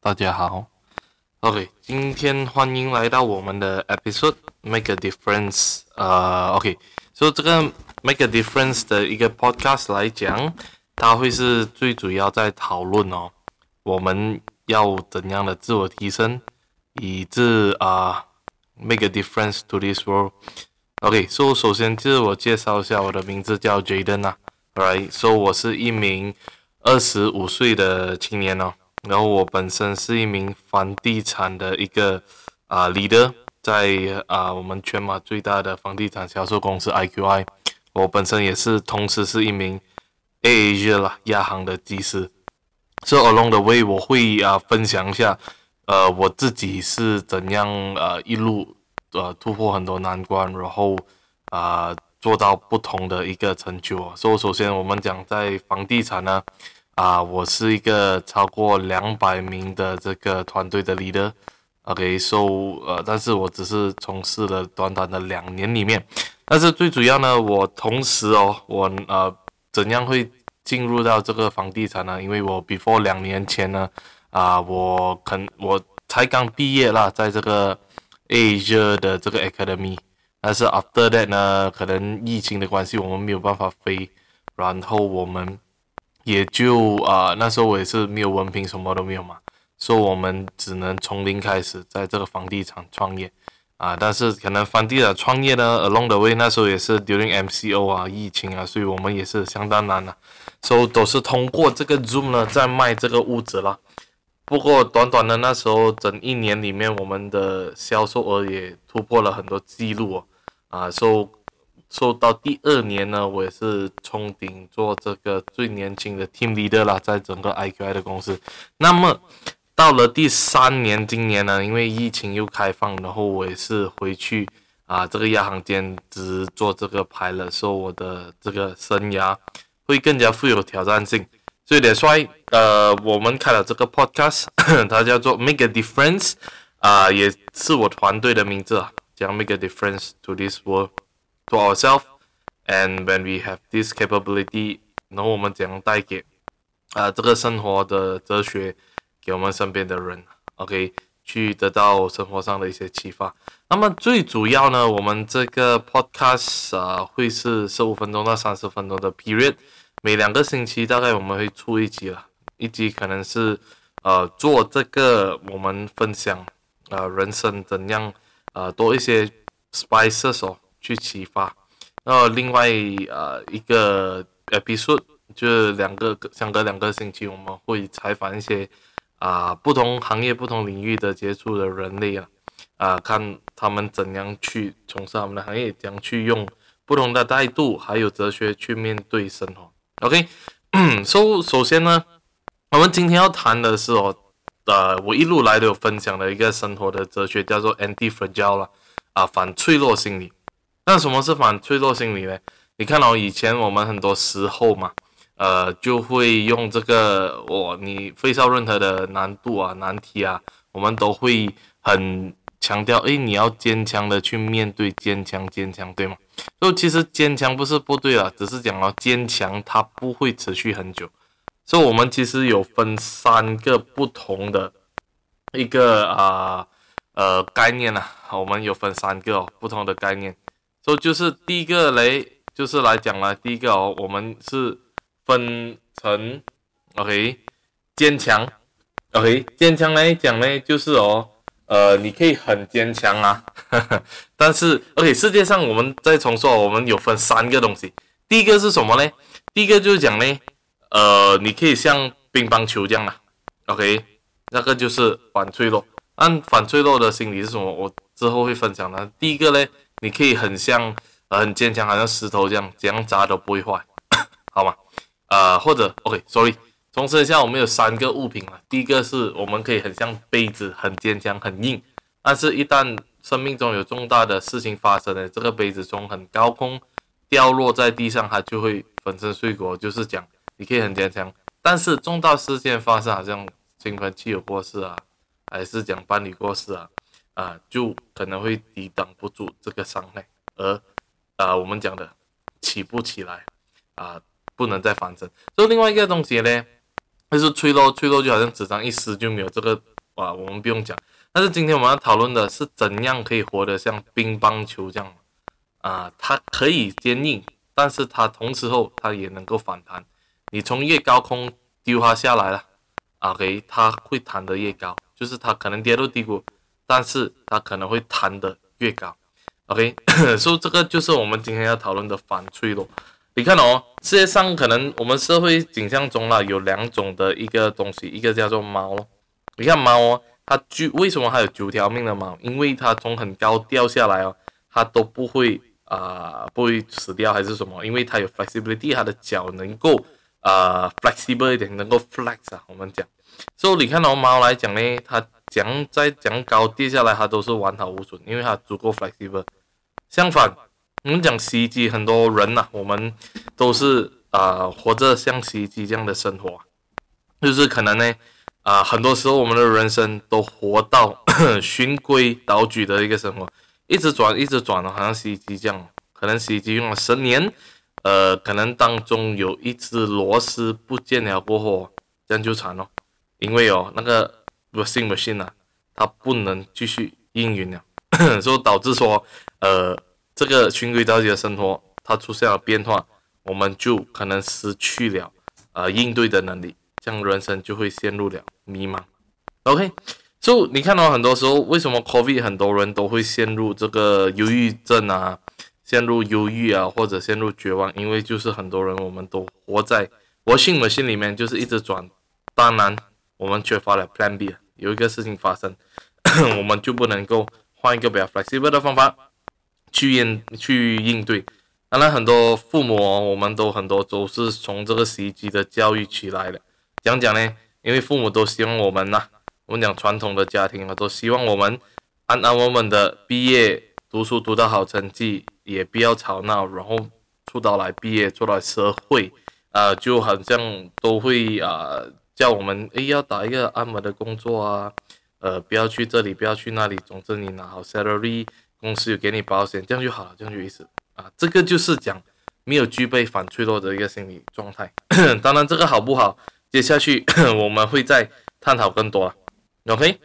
大家好。OK， 今天欢迎来到我们的 episode Make a Difference。OK， 所以这个 Make a Difference 的一个 podcast 来讲，它会是最主要在讨论我们要怎样的自我提升，以致make a difference to this world。OK， 首先自我介绍一下，我的名字叫 Jaden 啊。Alright， 我是一名25岁的青年然后我本身是一名房地产的一个leader， 在我们全马最大的房地产销售公司 IQI。我本身也是同时是一名 AirAsia 亚航的技师。So along the way 我会分享一下我自己是怎样一路突破很多难关，然后做到不同的一个成就。首先我们讲在房地产呢。我是一个超过200名的这个团队的 leader。OK， 但是我只是从事了短短的2年里面。但是最主要呢，我同时我怎样会进入到这个房地产呢？因为我 before 2年前呢，我才刚毕业啦，在这个 Asia 的这个 Academy。但是 after that 呢，可能疫情的关系，我们没有办法飞，然后我们也就那时候我也是没有文凭，什么都没有嘛，所以我们只能从零开始在这个房地产创业但是可能房地产创业呢 along the way 那时候也是 during MCO 疫情所以我们也是相当难所以都是通过这个 Zoom 呢在卖这个屋子啦。不过短短的那时候整1年里面，我们的销售额也突破了很多记录到第2年呢，我也是冲顶做这个最年轻的 team leader 啦，在整个 IQI 的公司。那么到了第3年，今年呢，因为疫情又开放，然后我也是回去这个亚航兼职做这个 pilot， 所以我的这个生涯会更加富有挑战性。所以that's why我们开了这个 podcast， 它叫做 Make a Difference， 也是我团队的名字讲 Make a Difference to this world。To ourselves, and when we have this capability， 然后我们怎样带给这个生活的哲学给我们身边的人 ，OK， 去得到生活上的一些启发。那么最主要呢，我们这个 podcast 会是15分钟到30分钟的 period， 每2个星期大概我们会出一集了，一集可能是做这个我们分享人生怎样多一些 spices去启发。另外一个 episode 就是相隔2个星期，我们会采访一些不同行业、不同领域的接触的人类看他们怎样去从事他们的行业，怎样去用不同的态度还有哲学去面对生活。OK， 首先呢，我们今天要谈的是我一路来都有分享的一个生活的哲学，叫做 anti-fragile 反脆弱心理。那什么是反脆弱心理呢？你看以前我们很多时候嘛，就会用这个你face到任何的难度难题我们都会很强调，你要坚强的去面对，坚强，对吗？所以其实坚强不是不对只是讲坚强它不会持续很久。所以我们其实有分3个不同的一个概念我们有分3个不同的概念。就是第一个就是来讲了，第一个我们是分成 OK 坚强 OK 坚强来讲呢，就是你可以很坚强但是 OK 世界上我们再重说，我们有分3个东西。第一个是什么呢？第一个就是讲呢你可以像乒乓球这样OK 那个就是反脆弱。按反脆弱的心理是什么？我之后会分享的。第一个呢，你可以很坚强，好像石头这样，怎样砸都不会坏，好吗？或者 OK，sorry， 重申一下，我们有3个物品第一个是我们可以很像杯子，很坚强，很硬，但是一旦生命中有重大的事情发生了，这个杯子从很高空掉落在地上，它就会粉身碎骨。就是讲你可以很坚强，但是重大事件发生，好像亲朋戚友过世还是讲伴侣过世就可能会抵挡不住这个伤害，而我们讲的起不起来不能再翻身。所以另外一个东西呢，就是脆弱就好像纸张一撕就没有这个我们不用讲。但是今天我们要讨论的是怎样可以活得像乒乓球这样它可以坚硬，但是它同时候它也能够反弹。你从越高空丢它下来了，OK， 它会弹得越高，就是它可能跌入低谷，但是它可能会弹得越高。OK， 所以这个就是我们今天要讨论的反脆弱。你看世界上可能我们社会景象中啦有2种的一个东西，一个叫做猫咯。你看猫它为什么还有9条命的猫？因为它从很高掉下来它都不会死掉还是什么？因为它有 flexibility， 它的脚能够flexible 一点，能够 flex 我们讲。所以你看猫来讲呢，它讲高跌下来，它都是完好无损，因为它足够 flexible。相反，我们讲洗衣机，很多人我们都是活着像洗衣机这样的生活，就是可能呢很多时候我们的人生都活到循规蹈矩的一个生活，一直转一直转好像洗衣机这样，可能洗衣机用了10年，可能当中有一只螺丝不见了过后，这样就惨了，因为那个 washing machine 它不能继续运营了，所以导致说这个循规蹈矩的生活它出现了变化，我们就可能失去了应对的能力，这样人生就会陷入了迷茫。OK， 所以你看到很多时候为什么 COVID 很多人都会陷入这个忧郁症陷入忧郁或者陷入绝望，因为就是很多人我们都活在washing machine里面，就是一直转，当然我们缺乏了 Plan B， 有一个事情发生我们就不能够换一个比较 flexible 的方法去应对。当然很多父母我们都很多都是从这个洗衣机的教育起来的。讲呢，因为父母都希望我们我们讲传统的家庭都希望我们安稳稳的毕业，读书读到好成绩，也不要吵闹，然后出到来毕业做到社会就好像都会叫我们要打一个安稳的工作不要去这里不要去那里，总之你拿好 salary， 公司有给你保险，这样就好了，这样就意思这个就是讲没有具备反脆弱的一个心理状态当然这个好不好接下去我们会再探讨更多OK，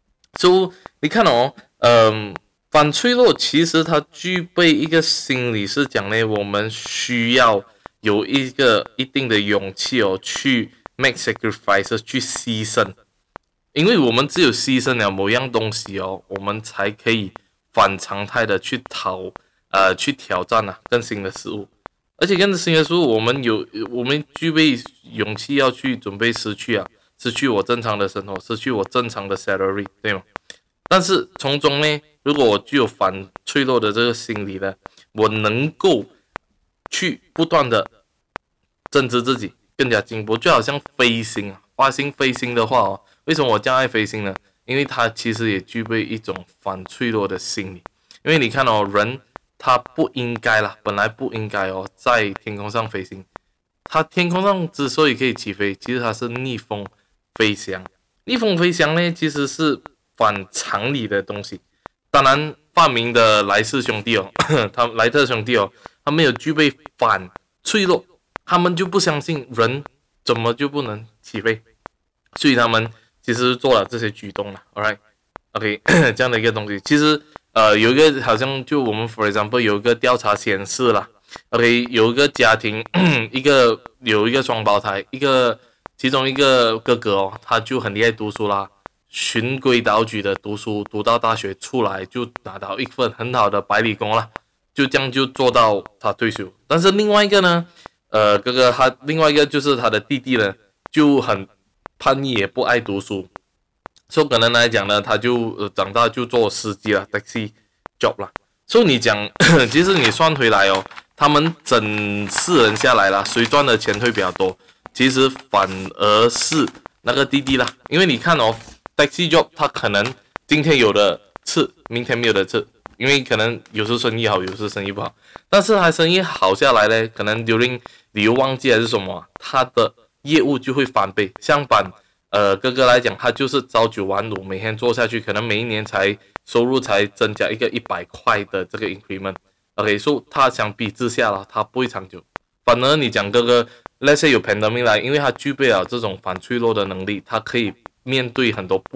so 你看反脆弱其实它具备一个心理是讲呢，我们需要有一个一定的勇气去 make sacrifices， 去牺牲，因为我们只有牺牲了某样东西我们才可以反常态的去挑战更新的事物，而且更新的事物我们具备勇气要去准备失去我正常的生活，失去我正常的 salary， 对吗？但是从中呢，如果我具有反脆弱的这个心理呢，我能够去不断的增值自己，更加进步，就好像飞行花心飞行的话为什么我这样爱飞行呢？因为它其实也具备一种反脆弱的心理，因为你看人他不应该本来不应该在天空上飞行，他天空上之所以可以起飞，其实它是逆风飞翔。逆风飞翔呢，其实是反常理的东西。当然，发明的莱特兄弟他们有具备反脆弱，他们就不相信人怎么就不能起飞，所以他们其实做了这些举动了。Alright， OK， 这样的一个东西，其实有一个好像就我们 for example 有一个调查显示啦 ，OK， 有一个家庭有一个双胞胎，其中一个哥哥他就很厉害读书啦，循规蹈矩的读书，读到大学出来就拿到一份很好的白领工啦，就这样就做到他退休。但是另外一个呢，哥哥另外一个就是他的弟弟呢，就很叛逆也不爱读书，所以可能来讲呢，他就长大就做司机了 ，taxi job 啦。所以你讲，其实你算回来他们整4人下来啦，谁赚的钱会比较多？其实反而是那个弟弟啦，因为你看taxi job 他可能今天有的吃，明天没有的吃，因为可能有时生意好，有时生意不好。但是他生意好下来呢，可能during旅游旺季还是什么，他的业务就会翻倍。相反，哥哥来讲，他就是朝9晚5，每天做下去，可能每一年收入才增加一个100块的这个 increment。OK， 所以他相比之下啦，他不会长久。反而你讲哥哥 ，let's say 有 pandemic 来，因为他具备了这种反脆弱的能力，他可以面对很多不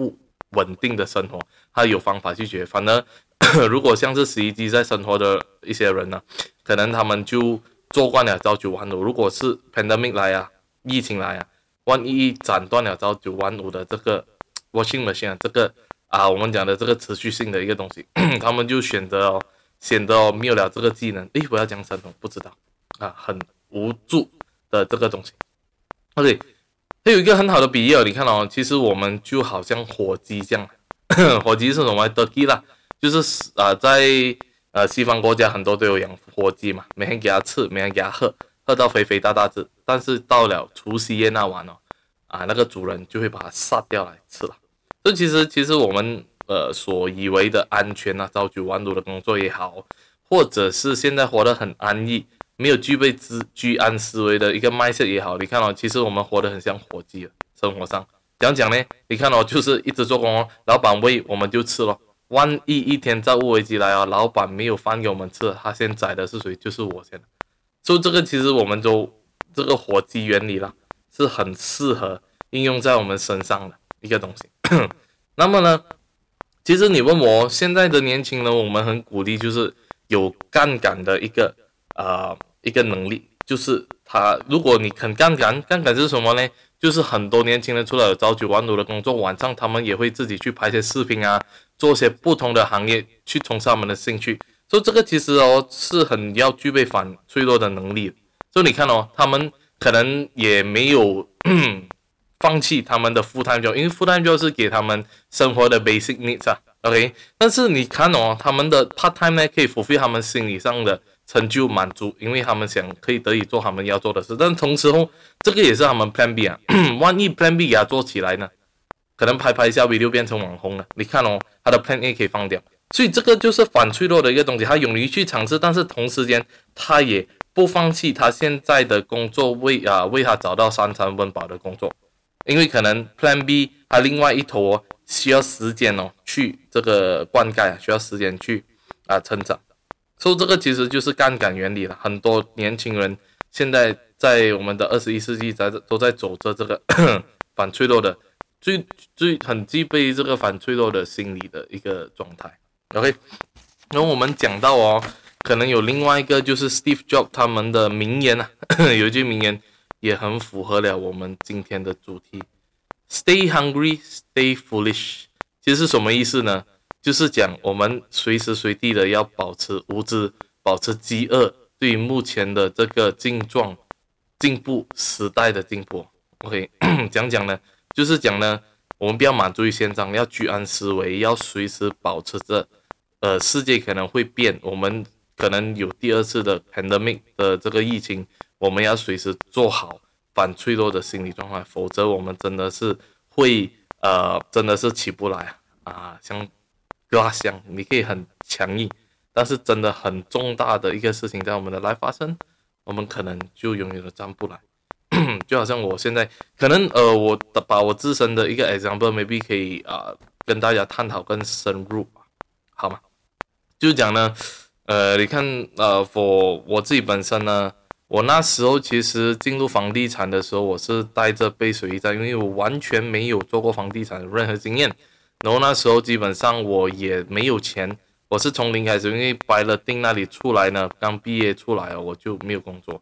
稳定的生活，他有方法去解决。反而如果像是洗衣机在生活的一些人呢，可能他们就做惯了朝九晚五。如果是 pandemic 来啊，疫情来啊，万一斩断了朝九晚五的这个 washing machine 这个我们讲的这个持续性的一个东西，他们就显得没有了这个技能。我要讲什么不知道很无助的这个东西。OK， 还有一个很好的比喻你看其实我们就好像火鸡这样，火鸡是什么 ？turkey 啦，就是在西方国家很多都有养火鸡嘛，每天给它吃，每天给它喝到肥肥大大只。但是到了除夕夜那晚那个主人就会把它杀掉来吃了。所以其实我们所以为的安全朝九晚五的工作也好，或者是现在活得很安逸，没有具备居安思危的一个mindset也好，你看其实我们活得很像火鸡生活上怎样讲呢？你看就是一直做工老板喂我们就吃咯。万一一天债务危机来老板没有饭给我们吃，他先宰的是谁？就是我先。所以这个其实我们这个火鸡原理啦，是很适合应用在我们身上的一个东西。那么呢，其实你问我现在的年轻人，我们很鼓励就是有杠杆的一个能力，就是如果你肯杠杆是什么呢？就是很多年轻人除了有朝九晚五的工作，晚上他们也会自己去拍些视频做些不同的行业去从事他们的兴趣。所以这个其实是很要具备反脆弱的能力。所以你看他们可能也没有放弃他们的 full time job， 因为 full time job 是给他们生活的 basic needs OK， 但是你看他们的 part time 呢，可以 fulfill 他们心理上的成就满足，因为他们想可以得以做他们要做的事。但同时这个也是他们 plan B 万一 plan B 给他做起来呢，可能拍一下 video 变成网红了。你看他的 plan A 可以放掉。所以这个就是反脆弱的一个东西，他勇于去尝试，但是同时间他也不放弃他现在的工作，为他找到三餐温饱的工作。因为可能 Plan B 他另外一头需要时间去这个灌溉需要时间去成长。所以这个其实就是杠杆原理了。很多年轻人现在在我们的21世纪都在走着这个反脆弱的很具备这个反脆弱的心理的一个状态。OK， 然后我们讲到可能有另外一个就是 Steve Jobs 他们的名言有一句名言也很符合了我们今天的主题 Stay hungry, stay foolish。 其实是什么意思呢？就是讲我们随时随地的要保持无知，保持饥饿，对于目前的这个进步时代的进步。 OK， 讲呢就是讲呢我们不要满足于现状，要居安思危，要随时保持着世界可能会变，我们可能有第二次的 pandemic 的这个疫情，我们要随时做好反脆弱的心理状态，否则我们真的是会真的是起不来像glass箱，你可以很强硬，但是真的很重大的一个事情在我们的来发生，我们可能就永远都站不来。就好像我现在可能我把我自身的一个 example maybe 可以跟大家探讨更深入，好吗？就是讲呢你看我自己本身呢，我那时候其实进入房地产的时候，我是带着背水一战，因为我完全没有做过房地产的任何经验，然后那时候基本上我也没有钱，我是从零开始，因为白了定那里出来呢，刚毕业出来我就没有工作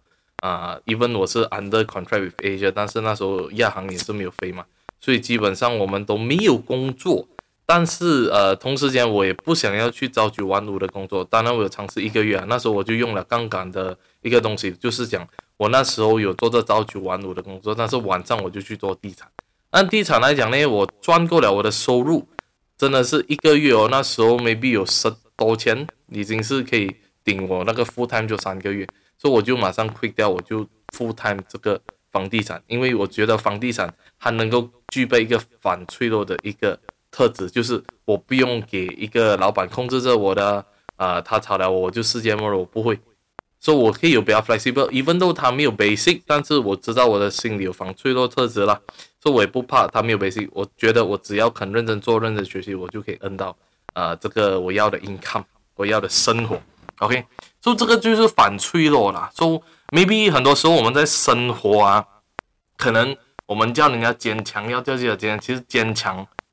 even 我是 under contract with Asia， 但是那时候亚航也是没有飞嘛，所以基本上我们都没有工作。但是同时间我也不想要去朝九晚五的工作，当然我有尝试1个月那时候我就用了杠杆的一个东西，就是讲我那时候有做着朝九晚五的工作，但是晚上我就去做地产。按地产来讲呢，我赚够了我的收入，真的是1个月那时候 maybe 有10多千，已经是可以顶我那个 full time 就3个月，所以我就马上 quit 掉，我就 full time 这个房地产，因为我觉得房地产它能够具备一个反脆弱的一个特质，就是我不用给一个老板控制着我的他炒了我就世界末日，我不会，所以我可以有比较 flexible， even though 他没有 basic， 但是我知道我的心里有反脆弱特质啦，所以我也不怕他没有 basic， 我觉得我只要肯认真做认真学习，我就可以earn到这个我要的 income， 我要的生活。 OK， 所以这个就是反脆弱啦。所以 maybe 很多时候我们在生活可能我们叫人家坚强，要叫自己坚强，其实坚强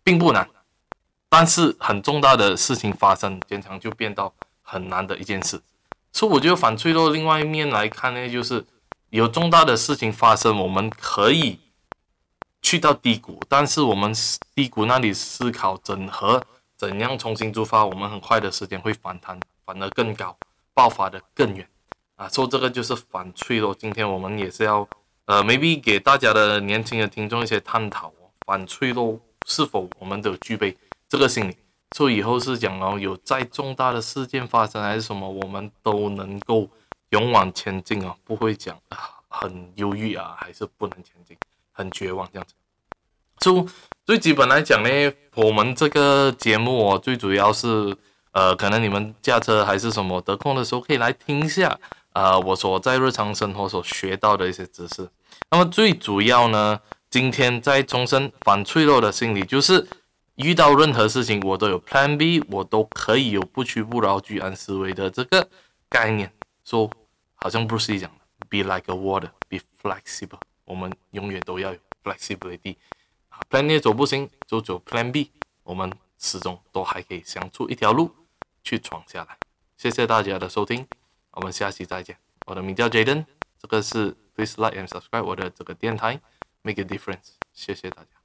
并不难，但是很重大的事情发生，经常就变到很难的一件事。所以我觉得反脆弱另外一面来看呢，就是有重大的事情发生，我们可以去到低谷，但是我们低谷那里思考整合，怎样重新出发，我们很快的时间会反弹，反而更高，爆发的更远啊！说这个就是反脆弱。今天我们也是要maybe 给大家的年轻的听众一些探讨反脆弱是否我们都具备这个心理。所以以后是讲有再重大的事件发生还是什么，我们都能够勇往前进不会讲很忧郁还是不能前进，很绝望这样子。最基本来讲呢，我们这个节目最主要是可能你们驾车还是什么得空的时候可以来听一下我所在日常生活所学到的一些知识。那么最主要呢，今天在重申反脆弱的心理，就是遇到任何事情我都有 Plan B， 我都可以有不屈不挠居安思危的这个概念。说好像 Bruce Lee 讲的 Be like a water, be flexible， 我们永远都要有 flexibility。 Plan A 走不行就走 Plan B， 我们始终都还可以想出一条路去闯下来。谢谢大家的收听，我们下期再见。我的名叫 Jaden， 这个是 Please like and subscribe 我的这个电台 Make a difference， 谢谢大家。